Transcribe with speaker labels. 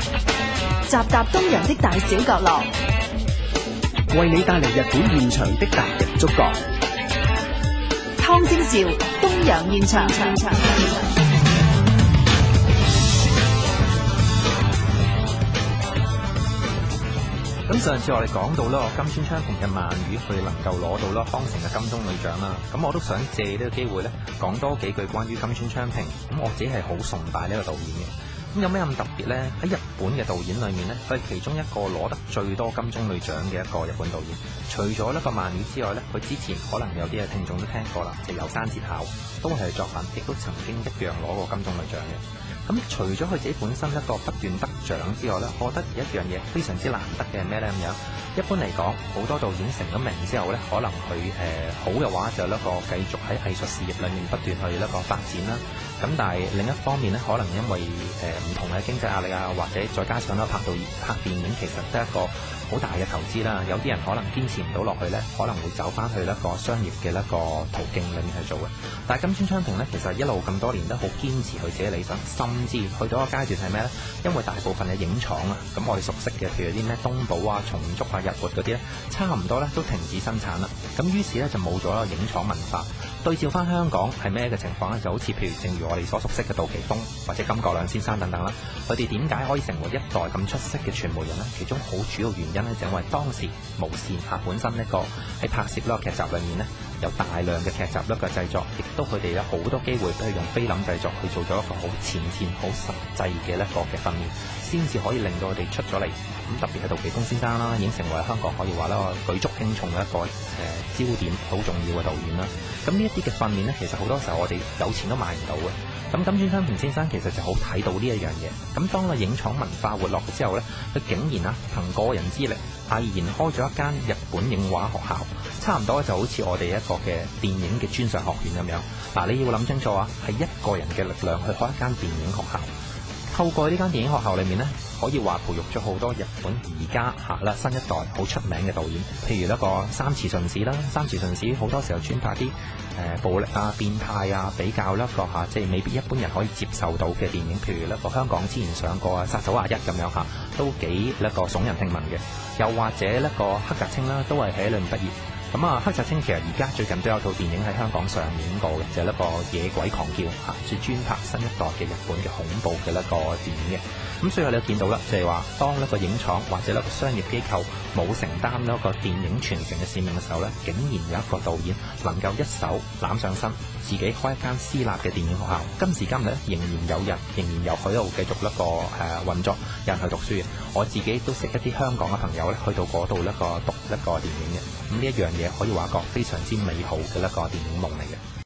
Speaker 1: 集集東洋的大小角落，
Speaker 2: 為你帶嚟日本現場的達人觸覺。
Speaker 1: 湯晶兆東洋現場。
Speaker 3: 咁上次我哋講到啦，金川昌平嘅鰻魚佢能夠攞到啦康城嘅金鐘女獎啦。咁我都想借呢個機會咧，講多幾句關於金川昌平。咁我自己係好崇拜呢個導演嘅。咁有咩咁特別呢？喺日本嘅導演裏面呢，佢係其中一個攞得最多金鐘女獎嘅一個日本導演。除咗呢個鰻魚之外呢，佢之前可能有啲嘅聽眾都聽過啦，就有山節考都係佢作品，亦都曾經一樣攞過金鐘女獎嘅。咁除咗佢自己本身一個不斷得獎之外呢，我覺得一樣嘢非常之難得嘅係咩呢？咁樣一般嚟講，好多導演成咗名之後呢，可能佢好嘅話就一個繼續喺藝術事業裏面不斷去一個發展啦。咁但係另一方面呢，可能因為唔同嘅經濟壓力啊，或者再加上咧拍電影其實都係一個好大嘅投資啦。有啲人可能堅持唔到落去呢，可能會走翻去一個商業嘅一個途徑裏面去做嘅。但係金川昌平呢，其實一路咁多年都好堅持佢自己理想，甚至去到一個階段係咩呢？因為大部分嘅影廠啊，咁我哋熟悉嘅，譬如啲咩東寶啊、松竹啊、日活嗰啲呢，差唔多呢都停止生產啦。咁於是呢，就冇咗一個影廠文化。對照翻香港係咩嘅情況呢？就好似譬如正如我哋所熟悉嘅杜琪峰或者甘國亮先生等等啦，佢哋點解可以成為一代咁出色嘅傳媒人呢？其中好主要原因呢，就因為當時無線本身一個喺拍攝呢個劇集裏面呢，有大量嘅劇集一個製作，亦都佢哋有好多機會都係用菲林製作去做咗一個好前線、好實際嘅一個嘅訓練，先至可以令到佢哋出咗嚟。咁特別係杜琪峰先生啦，已經成為香港可以話咧舉足輕重嘅一個焦點，好重要嘅導演啦。咁呢一啲嘅訓練呢，其實好多時候我哋有錢都買唔到嘅。咁金川昌平先生其實就好睇到呢一樣嘢。咁當個影廠文化活絡之後呢，佢竟然憑個人之力毅然開咗一間日本影畫學校，差唔多就好似我哋一個嘅電影嘅專上學院咁樣。嗱，你要諗清楚啊，係一個人嘅力量去開一間電影學校。透過呢間電影學校裏面呢，可以話培育咗好多日本而家新一代好出名嘅導演，譬如一個三池順子啦。三池順子好多時候專拍啲暴力啊、變態啊，比較一個即係未必一般人可以接受到嘅電影，譬如一個香港之前上過殺手21咁樣都幾一個聳人聽聞嘅。又或者一個黑澤清啦，都係喺裏面畢業。咁黑澤清其實而家最近都有套電影喺香港上映過嘅，就係一個野鬼狂叫即係專拍新一代嘅日本嘅恐怖嘅一個電影嘅。咁所以你都見到啦，就係話當一個影廠或者一個商業機構冇承擔一個電影傳承嘅使命嘅時候呢，竟然有一個導演能夠一手攬上身，自己開一間私立嘅電影學校。今時今日仍然有人，仍然有喺度繼續一個運作，有人去讀書嘅。我自己都識一啲香港嘅朋友咧，去到嗰度讀一個電影嘅。咁呢一樣嘢可以話一個非常之美好嘅一個電影夢嚟嘅。